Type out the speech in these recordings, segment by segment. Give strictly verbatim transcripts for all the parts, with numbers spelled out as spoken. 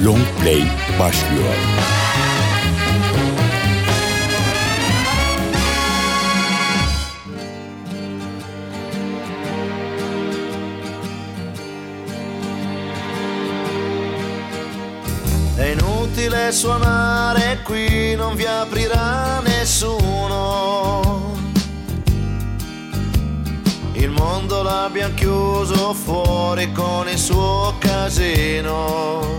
Long Play başlıyor. È inutile suonare qui, non vi aprirà nessuno. Il mondo l'abbiamo chiuso fuori con il suo casino.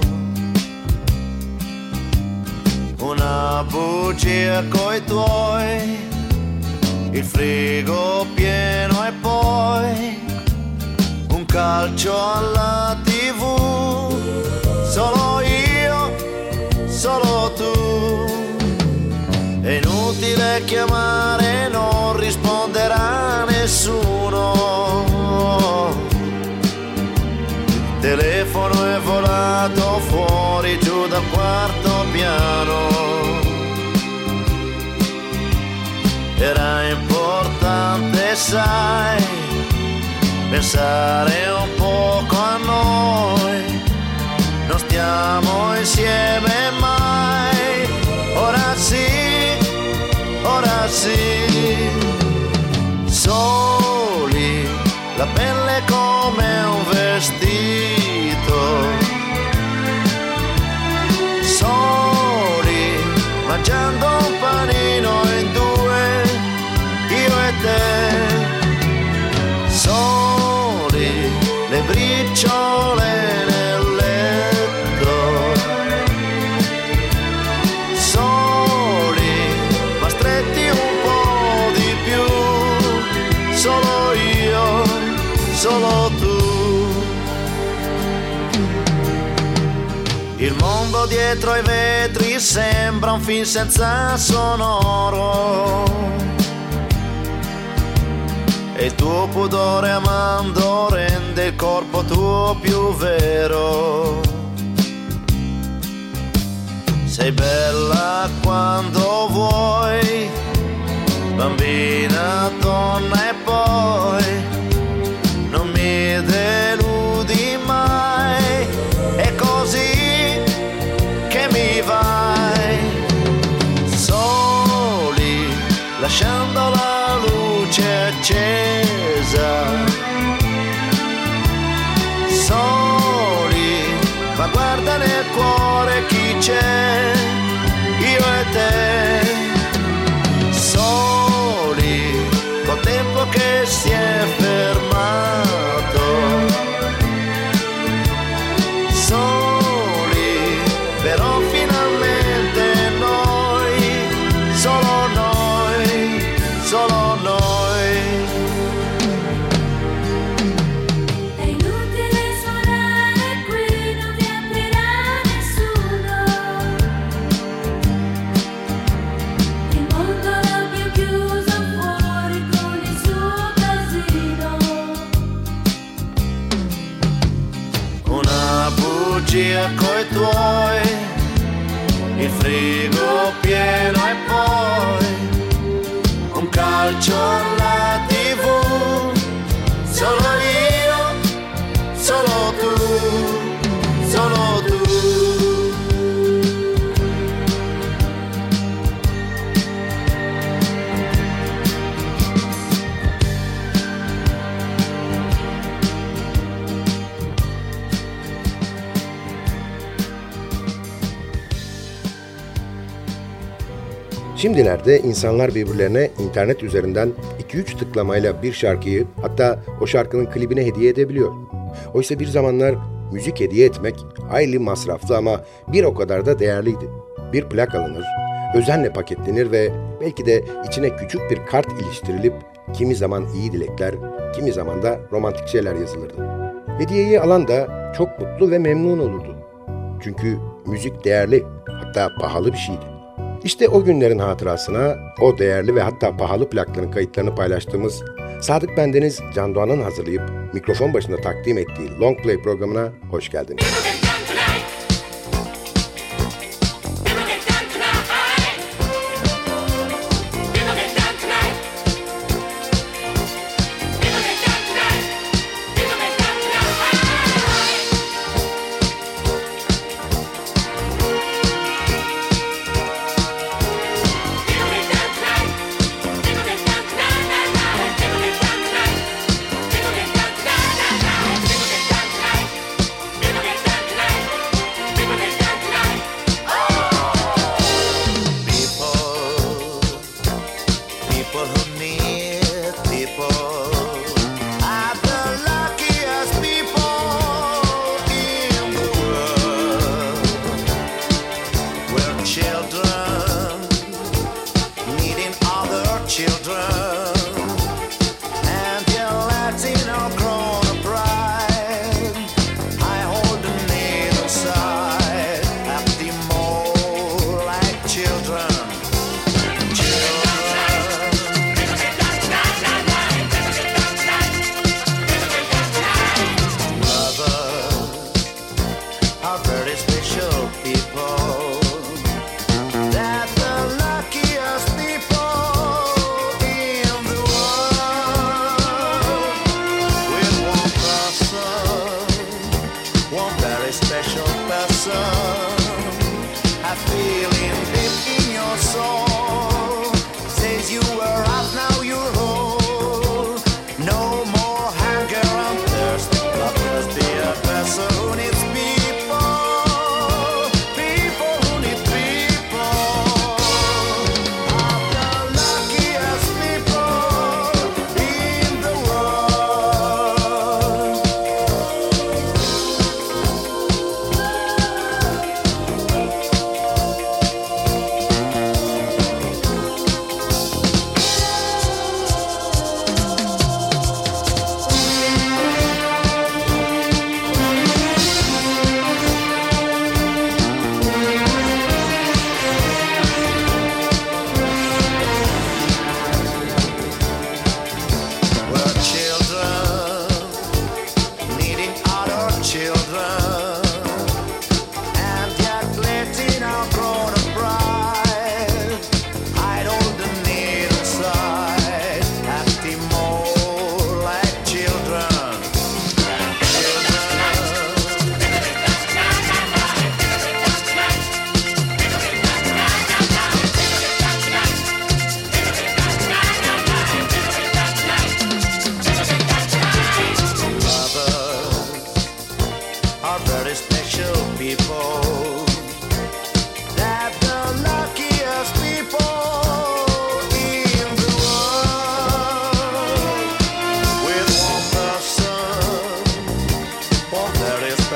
Una bugia coi tuoi, il frigo pieno e poi un calcio alla tivù. Solo io, solo tu. È inutile chiamare, non risponderà nessuno. Il telefono è volato fuori giù dal quarto piano. Era importante, sai, pensare un poco a noi. Non stiamo insieme mai. Ora sì, ora sì. Soli, la pelle come un vestito. Soli, mangiando un panino in due, io e te. Soli, le briciole nel letto. Soli, ma stretti un po' di più. Solo io, solo tu. Il mondo dietro ai vetri sembra un film senza sonoro. E il tuo pudore amando rende il corpo tuo più vero. Sei bella quando vuoi, bambina, donna e poi non mi deludi mai. È così che mi vai. Soli, lasciando la luce accesa. Soli, ma guarda nel cuore chi c'è, io e te. Soli, col tempo che si è fermato. Soli, però finalmente noi, solo noi, solo noi. È inutile suonare qui, non vi aprirà nessuno. Il mondo l'abbiamo chiuso fuori con il suo casino. Una bugia coi tuoi, il frigo pieno e poi un calcio alla tivù. Solo io, solo tu, solo tu. Şimdilerde insanlar birbirlerine internet üzerinden iki üç tıklamayla bir şarkıyı, hatta o şarkının klibine hediye edebiliyor. Oysa bir zamanlar müzik hediye etmek hayli masraflı ama bir o kadar da değerliydi. Bir plak alınır, özenle paketlenir ve belki de içine küçük bir kart iliştirilip kimi zaman iyi dilekler, kimi zaman da romantik şeyler yazılırdı. Hediyeyi alan da çok mutlu ve memnun olurdu. Çünkü müzik değerli, hatta pahalı bir şeydi. İşte o günlerin hatırasına o değerli ve hatta pahalı plakların kayıtlarını paylaştığımız Sadık Bendeniz Can Doğan'ın hazırlayıp mikrofon başında takdim ettiği Long Play programına hoş geldiniz.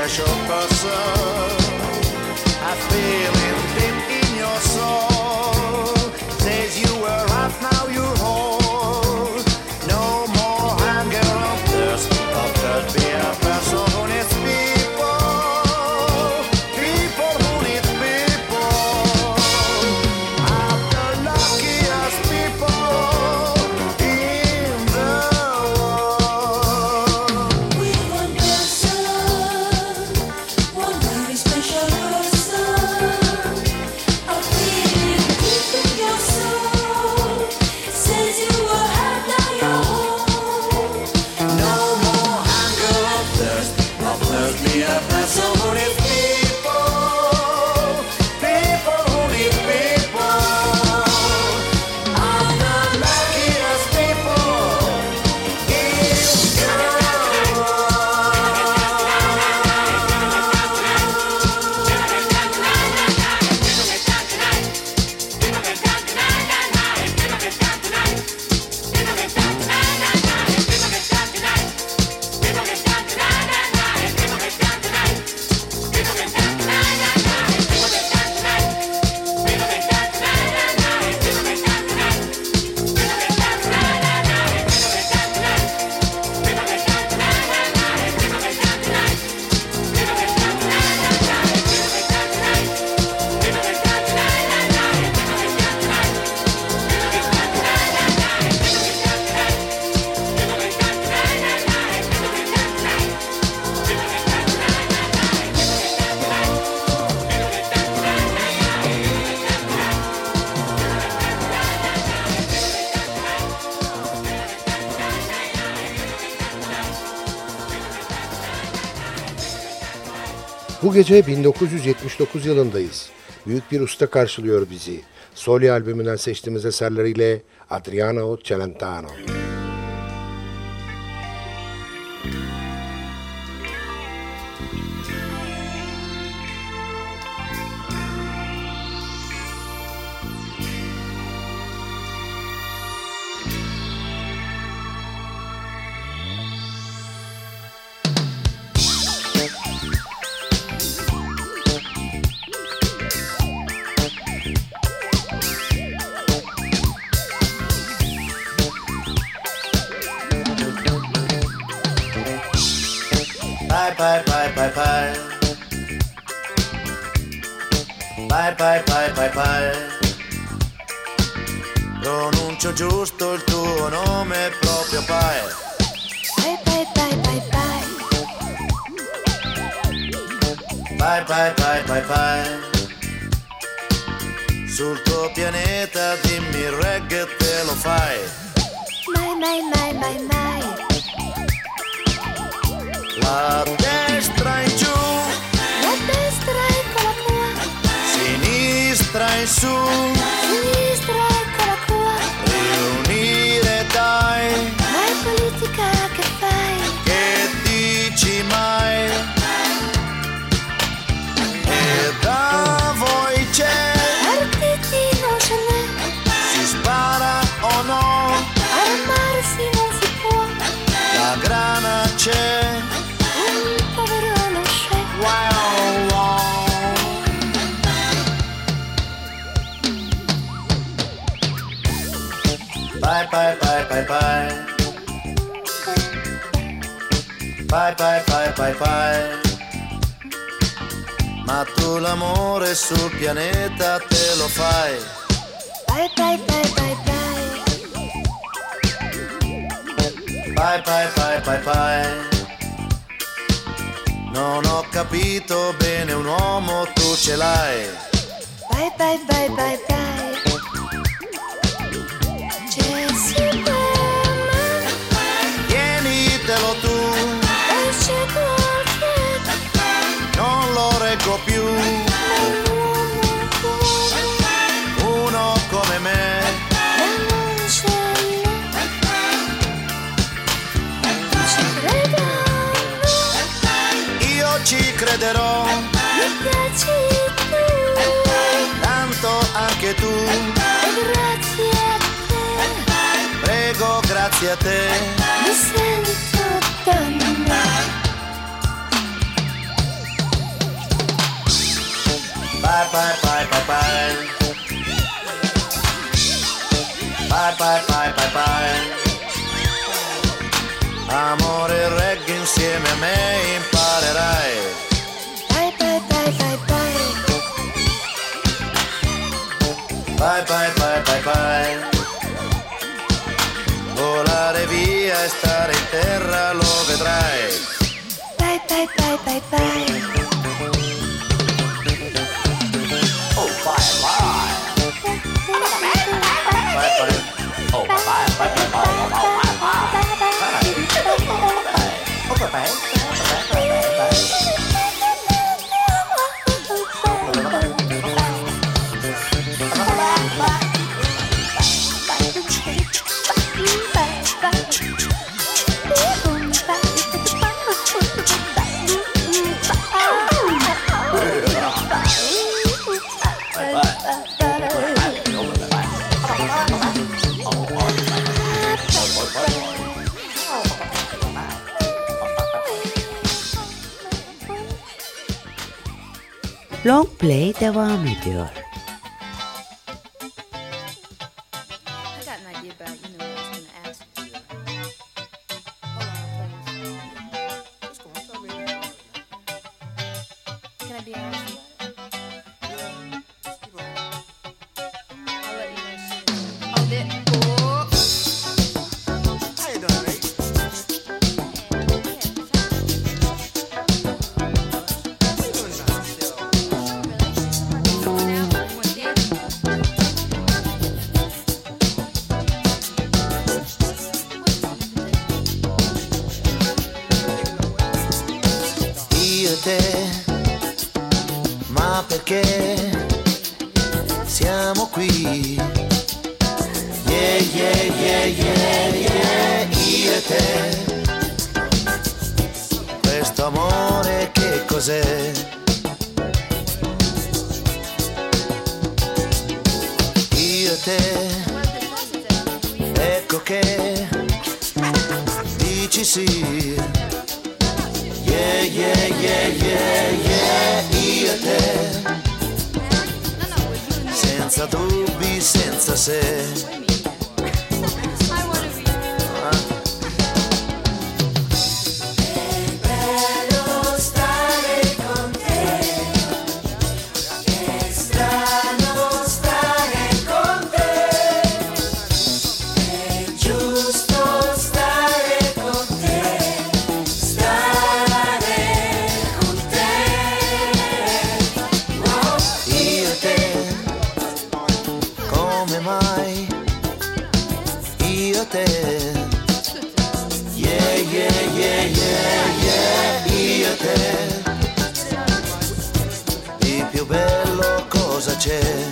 special person. A feeling deep in your soul says you were half, now you're whole. No more hunger or thirst, or thirst be a person who needs people, people who need people. I'm the luckiest people in the world. With one person, one very special person, a feeling deep in your soul says you were half, now you're whole. No more hunger or thirst, or thirst be a person who needs people, people who need people. I'm the luckiest people in the Bu gece bin dokuz yüz yetmiş dokuz yılındayız. Büyük bir usta karşılıyor bizi. Soli albümünden seçtiğimiz eserleriyle Adriano Celentano. Bye bye bye bye bye. Bye bye bye bye bye. Pronuncio giusto il tuo nome proprio bye. Bye bye bye bye bye. Bye bye bye bye bye. Sul tuo pianeta dimmi il reggae te lo fai. Mai mai mai mai mai. La destra in giù, La destra eccola qua, sinistra in su, sinistra eccola qua. riunire dai, Ma è politica che fai? che dici mai? E da voi c'è, Partiti non ce n'è, si spara o no, armarsi non si può. la grana c'è. Un povero non c'è. Wow, wow. Bye bye bye bye bye. Bye bye bye bye bye. Ma tu l'amore sul pianeta te lo fai. Bye bye bye bye bye. Bye bye bye bye bye. Non ho capito bene un uomo, tu ce l'hai. Bye bye bye bye bye. Jesse Berman, Tienitelo tu, esce qualche non lo reggo più. uomo buono, Uno come me, ma non ce n'è. Tu ci credono, io ci crederò, mi piaci tu, tanto anche tu. e grazie a te, Prego, grazie a te. mi sento donna. Bye bye bye bye bye. Bye bye bye bye bye. Amore, reggae insieme a me imparerai. Bye bye bye bye bye. Bye bye bye bye bye. Volare via e stare in terra lo vedrai. Bye bye bye bye bye. Oh bye bye. Bye bye. Oh bye bye bye bye bye. Oh bye bye. Oh bye bye. Long Play devam ediyor. I got an idea about, you know, what I was gonna ask you. Hold on, please. Can I be honest with you? I'll let you know soon. Oh, there. Oh. How you doing, mate? Io e te, ma perché siamo qui? Yeah, yeah, yeah, yeah, yeah, io e te. Questo amore che cos'è? Io e te, ecco che dici sì. Yeah, yeah, yeah, yeah, yeah, io e te, senza dubbi, senza se. C'è.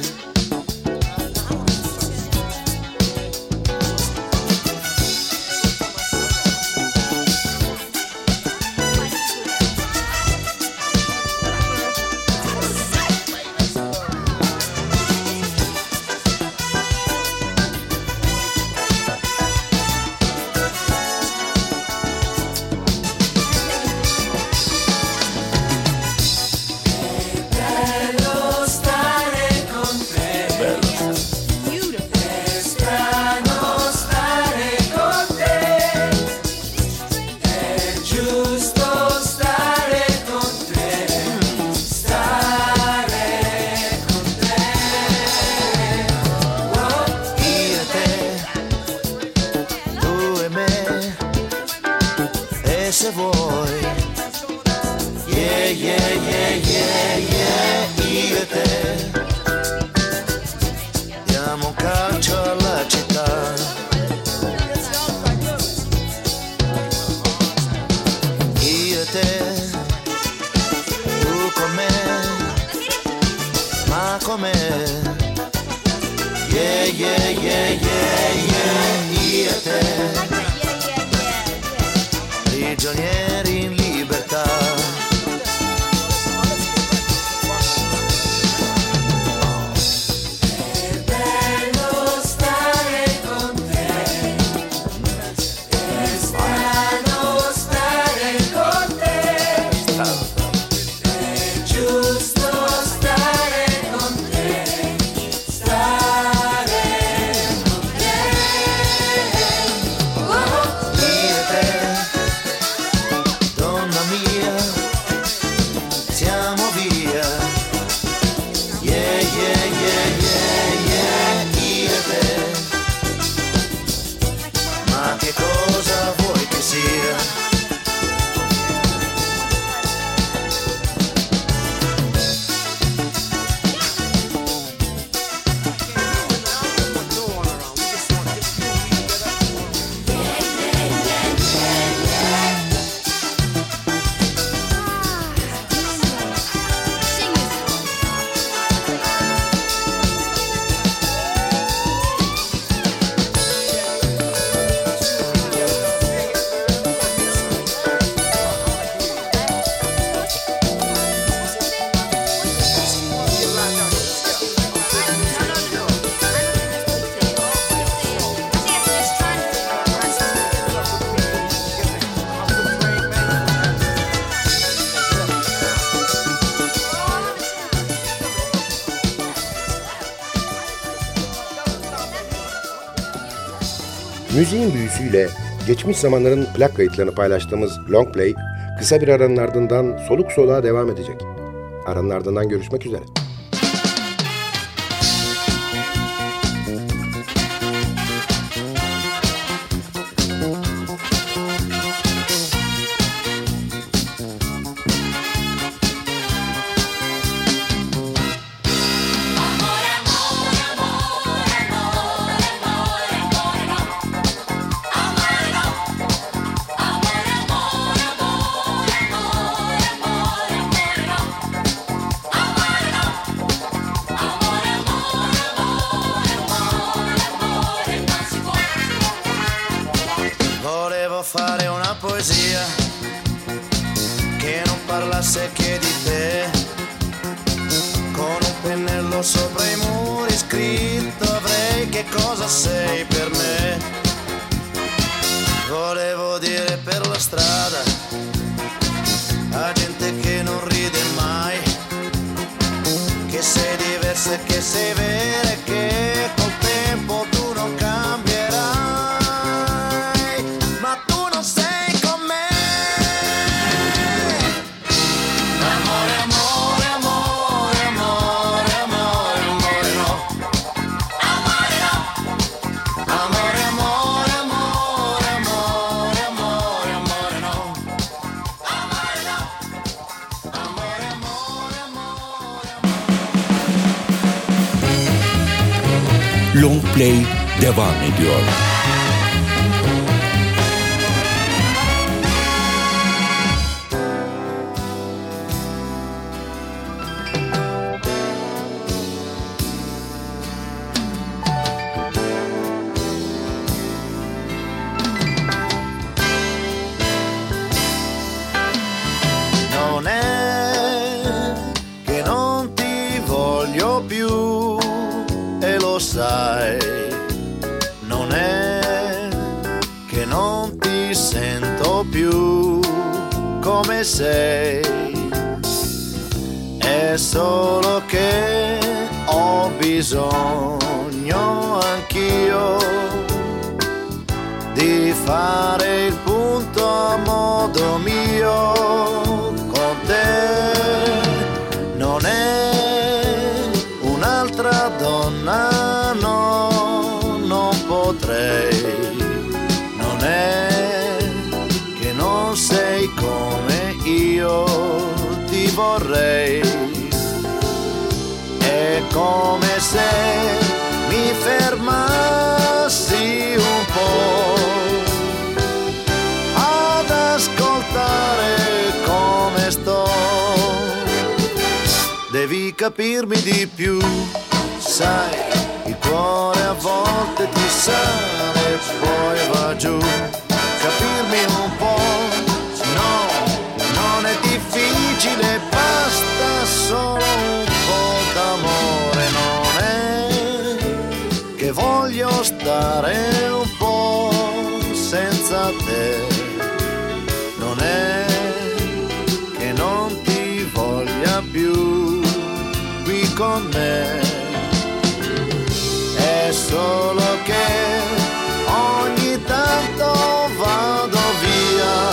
Se vuoi, yeah, yeah, yeah, yeah, yeah, io e te diamo un calcio alla città. Io e te, tu con me, ma con me, yeah, yeah, yeah, yeah, yeah, io e te. Prigionieri in libertà. È bello stare con te. È strano stare con te. È giusto stare con te. Müziğin büyüsüyle geçmiş zamanların plak kayıtlarını paylaştığımız Long Play, kısa bir aranın ardından soluk soluğa devam edecek. Aranın ardından görüşmek üzere. Volevo fare una poesia che non parlasse che di te, con un pennello sopra i muri scritto avrei che cosa sei per me. Volevo dire per la strada a gente che non ride mai che sei diversa e che sei vera e che col tempo tu non cambierai. Long Play devam ediyor. Non è che non ti voglio più e lo sai, non è che non ti sento più come sei, è solo che ho bisogno anch'io di fare il punto a modo mio con te. Non è un'altra donna, no, non potrei. Non è che non sei come io ti vorrei. È come se mi fermassi un po' ad ascoltare come sto. Devi capirmi di più, sai, il cuore a volte ti sale e poi va giù. Capirmi un po', no, non è difficile, basta solo un po' d'amore. Non è che voglio stare un po' senza te, non è che non ti voglia più qui con me, è solo che ogni tanto vado via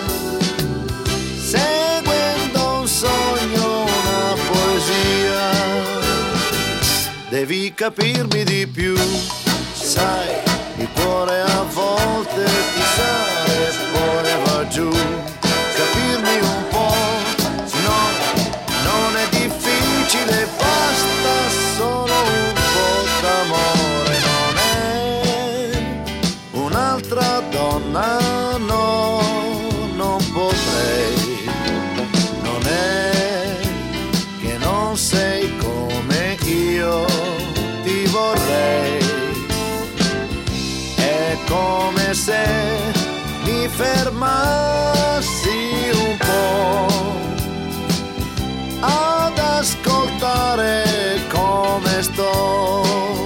seguendo un sogno, una poesia. Devi capirmi di più, sai, il cuore a volte ti sale e poi va giù. Capirmi un po', no, non è difficile, basta solo un po' d'amore. Non è un'altra donna, no, non potrei. Non è che non sei come io ti vorrei. È come se mi fermassi un po' ad ascoltare come sto.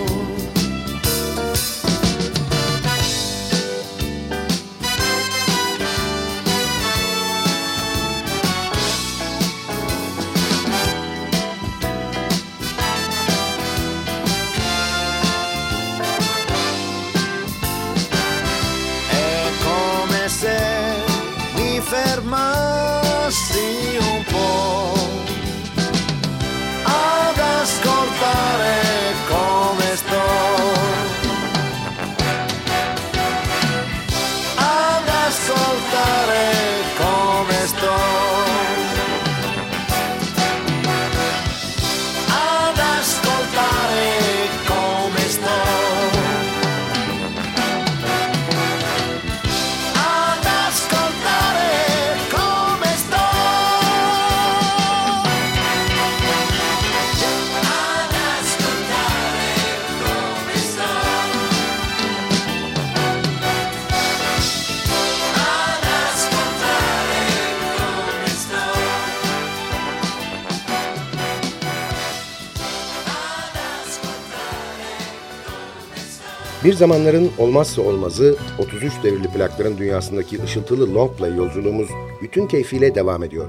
Bir zamanların olmazsa olmazı otuz üç devirli plakların dünyasındaki ışıltılı long play yolculuğumuz bütün keyfiyle devam ediyor.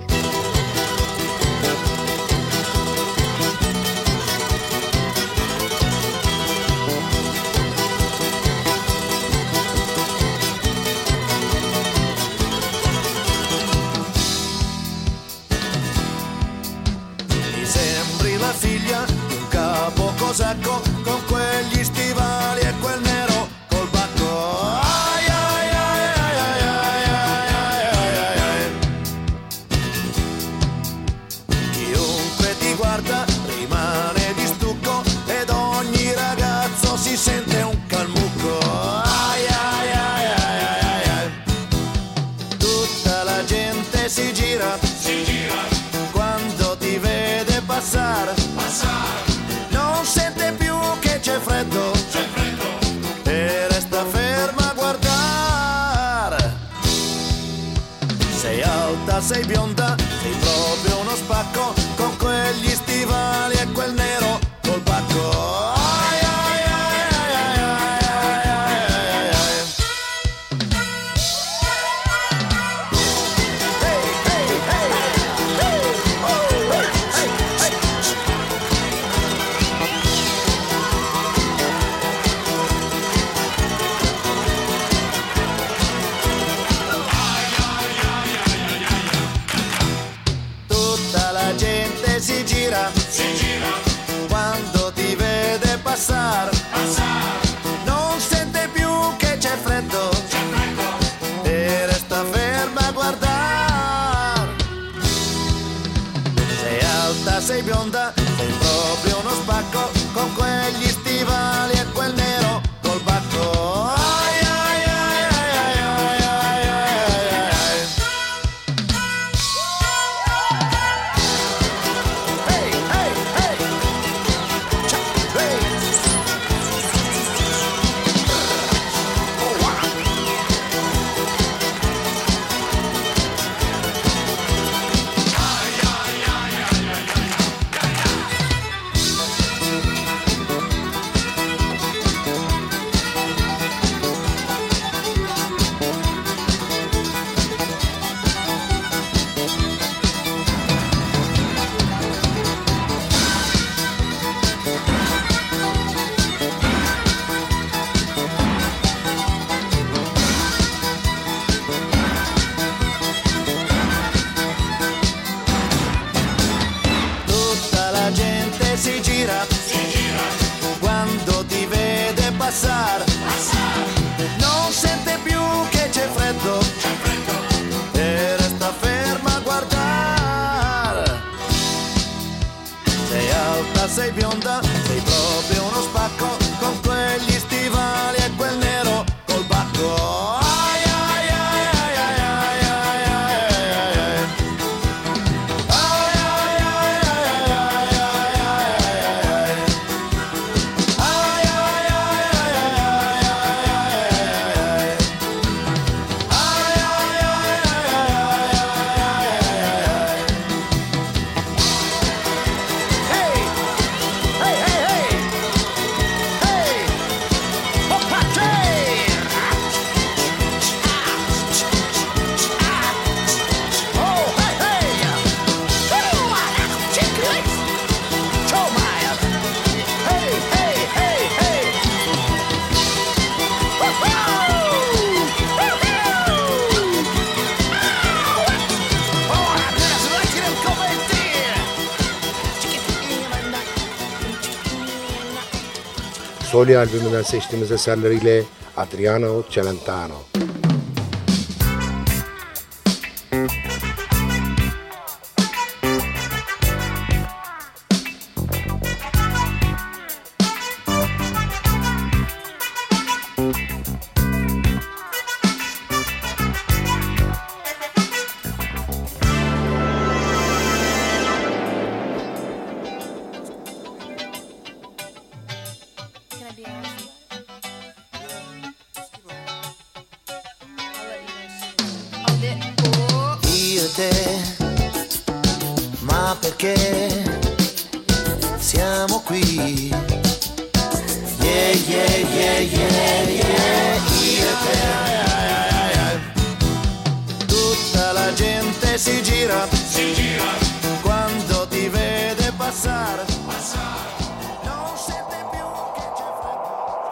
Mi sembri la figlia di un capo cosacco con quegli stivali e quel nero col bacco. Ai, ai, ai, ai, ai, ai, ai, ai, ai, ai. Chiunque ti guarda rimane di stucco ed ogni ragazzo si sente un calmucco. Ai, ai, ai, ai, ai, ai, ai. Tutta la gente si gira, si gira quando ti vede passare, passare. Non sente più che c'è freddo, c'è freddo, e resta ferma a guardare. Sei alta, sei bionda, sei proprio uno spacco con quegli stivali e quel nero col bacco. Ai, ai, ai, ai, ai, ai, ai, ai, ai. Hey, hey, hey, hey, oh, hey, hey, hey. Tutta la gente si gira, si gira quando ti vede passare, passare. Non sente più che c'è freddo, c'è freddo, e resta ferma a guardare. Sei alta, sei bionda, sei proprio uno spacco con quegli stivali e quel nero col bacco. Ai, ai, ai, ai, ai, ai, ai, ai, ai, ai. Hey, hey, hey. Cha, hey. Oh, wow. Tutta la gente si gira, si gira quando ti vede passare, passare. Non sente più che c'è freddo, c'è freddo, e resta ferma a guardare. Sei alta, sei bionda, sei proprio uno spacco con quegli stivali e quel nero col bacco. Ai, ai, ai, ai, ai, ai, ai, ai, ai, ai. Ai, ai, ai, ai, ai, ai, ai, ai, ai. Ai, ai, ai, ai, ai, ai, ai, ai. Ai, ai, ai, ai, ai, ai, ai. Hey! Hey, hey, hey! Hey! Hoppa, hey! Oh, hey, hey! Oh, check it! Show my! Hey, hey, hey, hey! Woo-hoo! Woo-hoo! Oh, adesso lasci il commentiere! Soli albümünden seçtiğimiz eserleriyle Adriano Celentano. Can I be honest? I'll let you know soon. Oh, that, oh. Io e te, ma perché siamo qui? Yeah, yeah, yeah, yeah, yeah, io e te. Tutta la gente si gira, si gira, quando ti vede passare, passare. Non sente più che c'è freddo.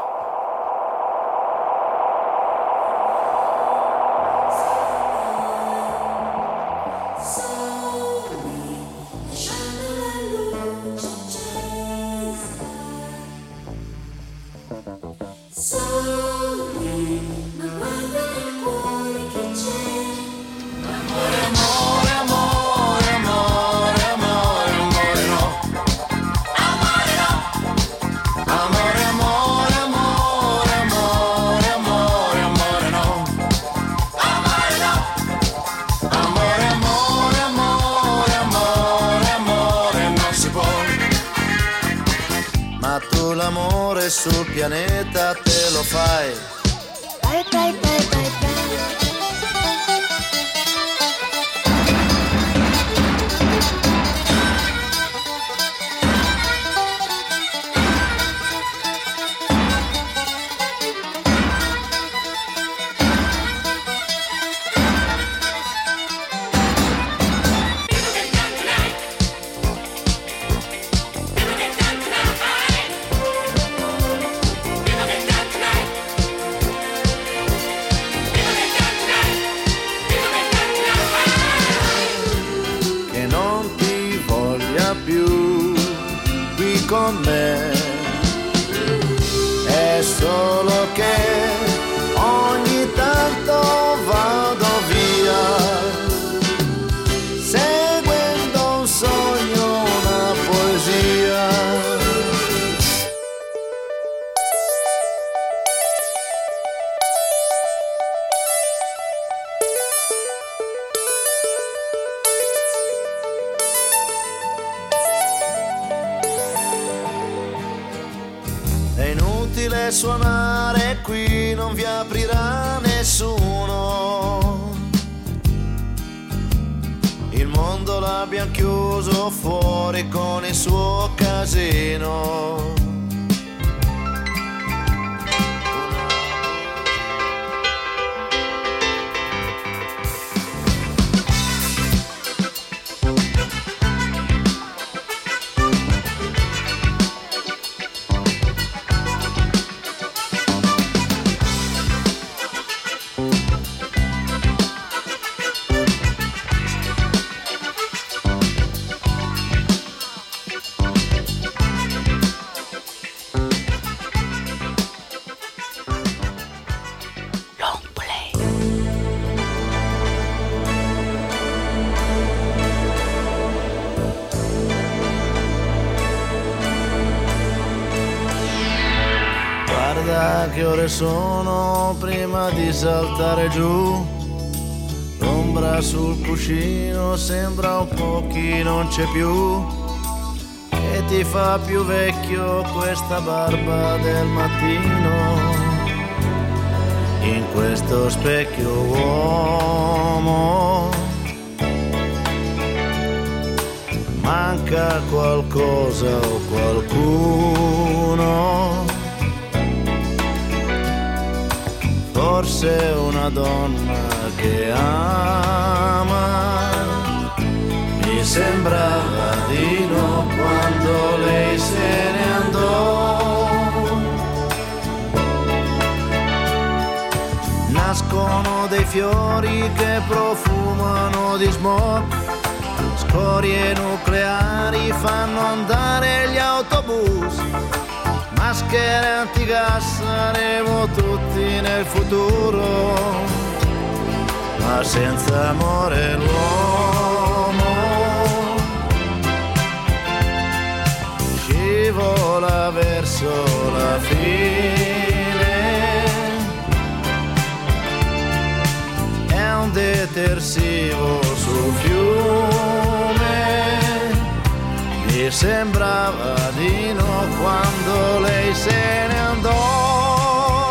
L'amore sul pianeta te lo fai. Bye bye bye bye bye. Con me è solo che ogni tanto vado via seguendo un sogno, una poesia. È inutile suonare qui, non vi aprirà nessuno. Il mondo l'abbiamo chiuso fuori con il suo casino. Guarda che ore sono prima di saltare giù. L'ombra sul cuscino sembra un pochino non c'è più. E ti fa più vecchio questa barba del mattino. In questo specchio uomo manca qualcosa o qualcuno. Forse una donna che ama. Mi sembrava di no quando lei se ne andò. Nascono dei fiori che profumano di smog. Scorie nucleari fanno andare gli autobus. Maschere antigas, saremo tutti nel futuro, ma senza amore l'uomo scivola verso la fine. È un detersivo sul fiume. Mi sembrava di no quando lei se ne andò.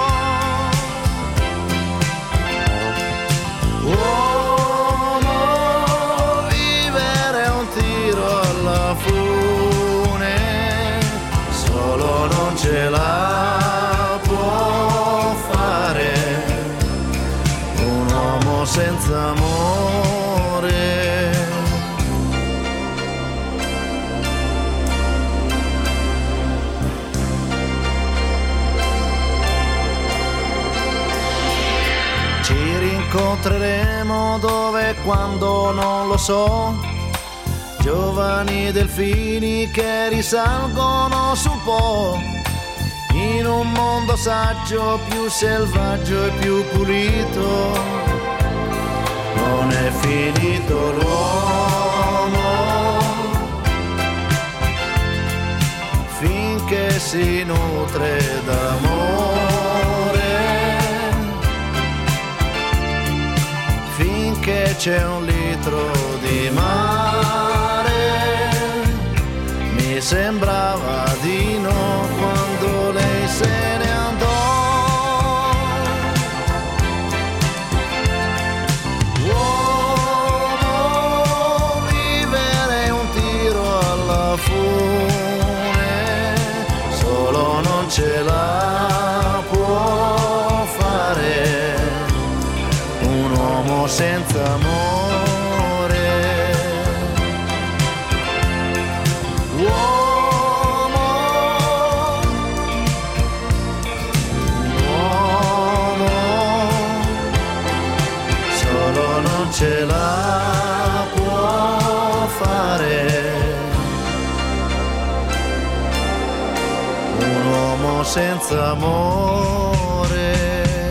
Uomo, vivere è un tiro alla fune, solo non ce l'ha. incontreremo dove e quando non lo so. Giovani delfini che risalgono su Po, in un mondo saggio, più selvaggio e più pulito. Non è finito l'uomo finché si nutre d'amore, finché c'è un litro di mare. Mi sembrava di no quando lei se ne andò. Uomo, vivere un tiro alla fune, solo non ce la può fare un uomo senza amore. Uomo, uomo, solo non ce la può fare un uomo senza amore.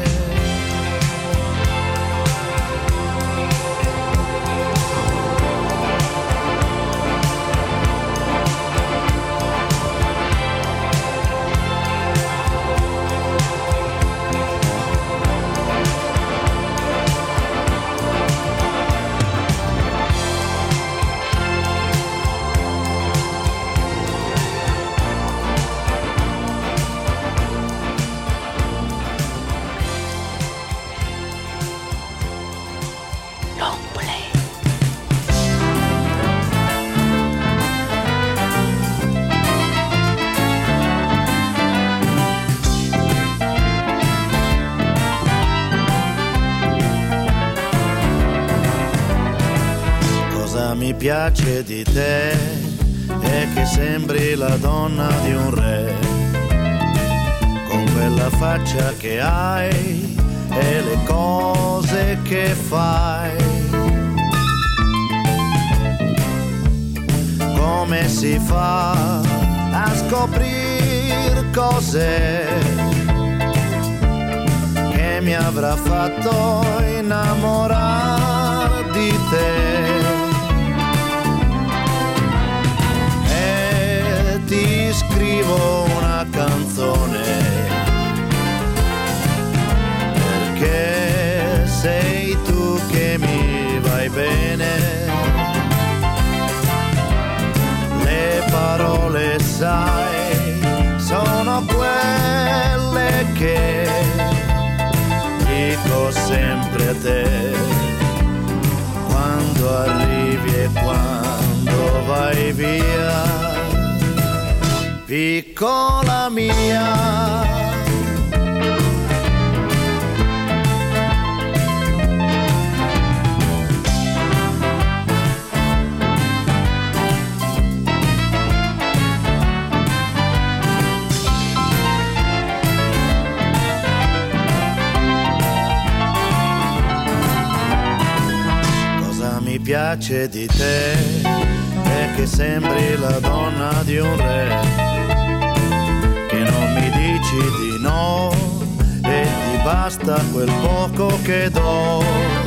Mi piace di te è che sembri la donna di un re, con quella faccia che hai e le cose che fai. Come si fa a scoprire cose che mi avrà fatto innamorare di te? Ti scrivo una canzone perché sei tu che mi vai bene. Le parole, sai, sono quelle che dico sempre a te quando arrivi e quando vai via. Piccola mia, cosa mi piace di te è che sembri la donna di un re, di no e ti basta quel poco che do.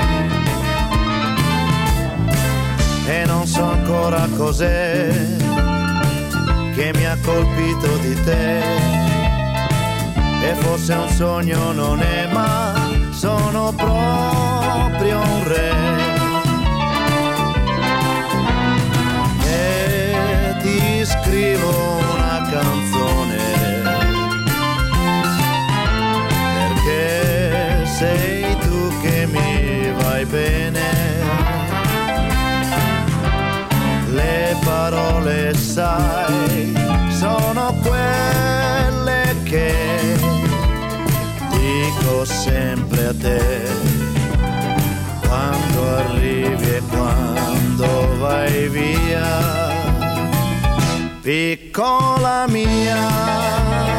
E non so ancora cos'è che mi ha colpito di te, e forse un sogno non è, ma sono proprio un re. E ti scrivo una canzone che sei tu che mi vai bene. Le parole, sai, sono quelle che dico sempre a te quando arrivi e quando vai via. Piccola mia,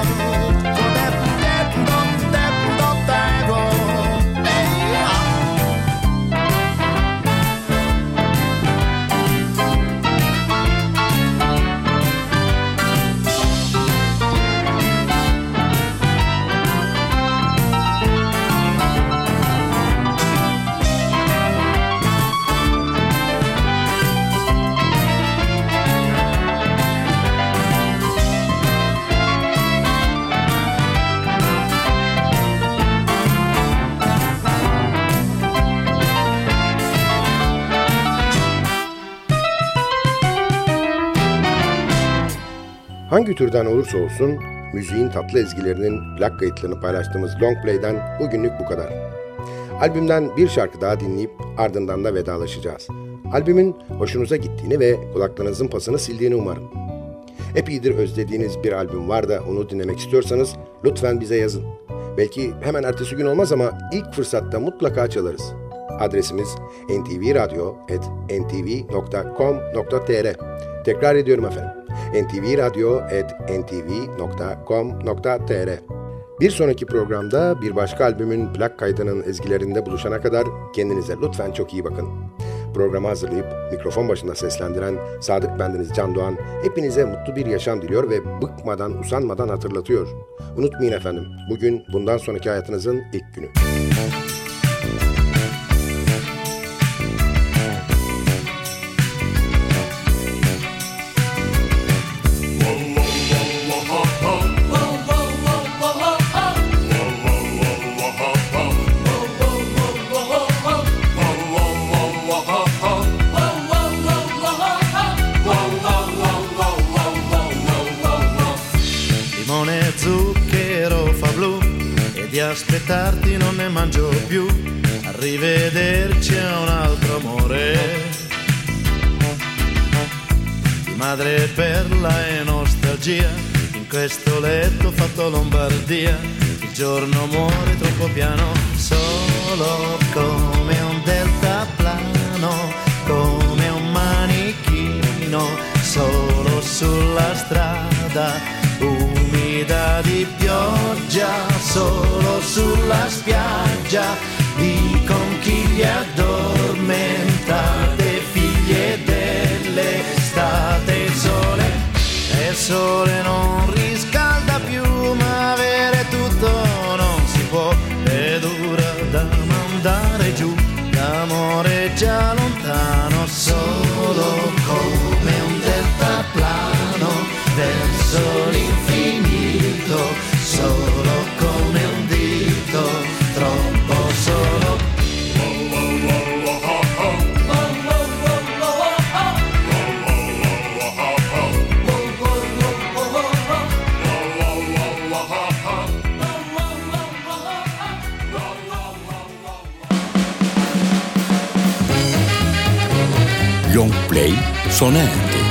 Hangi türden olursa olsun müziğin tatlı ezgilerinin plak kayıtlarını paylaştığımız Long Play'den bugünlük bu kadar. Albümden bir şarkı daha dinleyip ardından da vedalaşacağız. Albümün hoşunuza gittiğini ve kulaklarınızın pasını sildiğini umarım. Epeydir özlediğiniz bir albüm var da onu dinlemek istiyorsanız lütfen bize yazın. Belki hemen ertesi gün olmaz ama ilk fırsatta mutlaka çalarız. Adresimiz en ti vi radyo at en ti vi nokta com nokta te er. Tekrar ediyorum efendim. en ti vi radyo at en ti vi nokta com nokta te er. Bir sonraki programda bir başka albümün plak kaydının ezgilerinde buluşana kadar kendinize lütfen çok iyi bakın. Programı hazırlayıp mikrofon başında seslendiren Sadık bendeniz Can Doğan hepinize mutlu bir yaşam diliyor ve bıkmadan, usanmadan hatırlatıyor. Unutmayın efendim, bugün bundan sonraki hayatınızın ilk günü. Zucchero fa blu e di aspettarti non ne mangio più. Arrivederci a un altro amore di madre perla e nostalgia. In questo letto fatto Lombardia il giorno muore troppo piano, solo come un deltaplano, come un manichino, solo sulla strada umida di pioggia, solo sulla spiaggia di conchiglie addormentate, figlie dell'estate. Il sole, e il sole non riscalda più, ma avere tutto non si può, è dura da mandare giù, l'amore è già lontano, solo come un deltaplano verso l'infinito, solo come un dito, troppo solo. Long Play sona erdi.